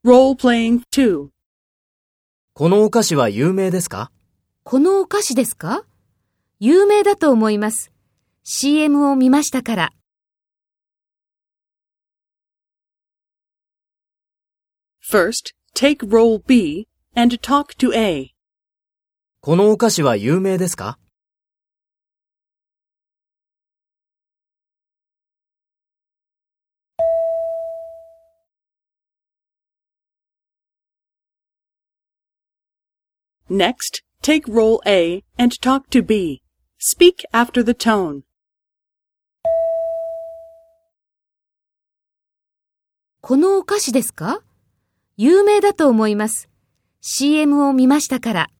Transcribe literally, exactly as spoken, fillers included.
Role-playing two. このお菓子は有名ですか？ このお菓子ですか？有名だと思います。シーエム を見ましたから。 First, take role B and talk to A. このお菓子は有名ですか？ Next, take role A and talk to B. Speak after the tone. このお菓子ですか？有名だと思います。シーエム を見ましたから。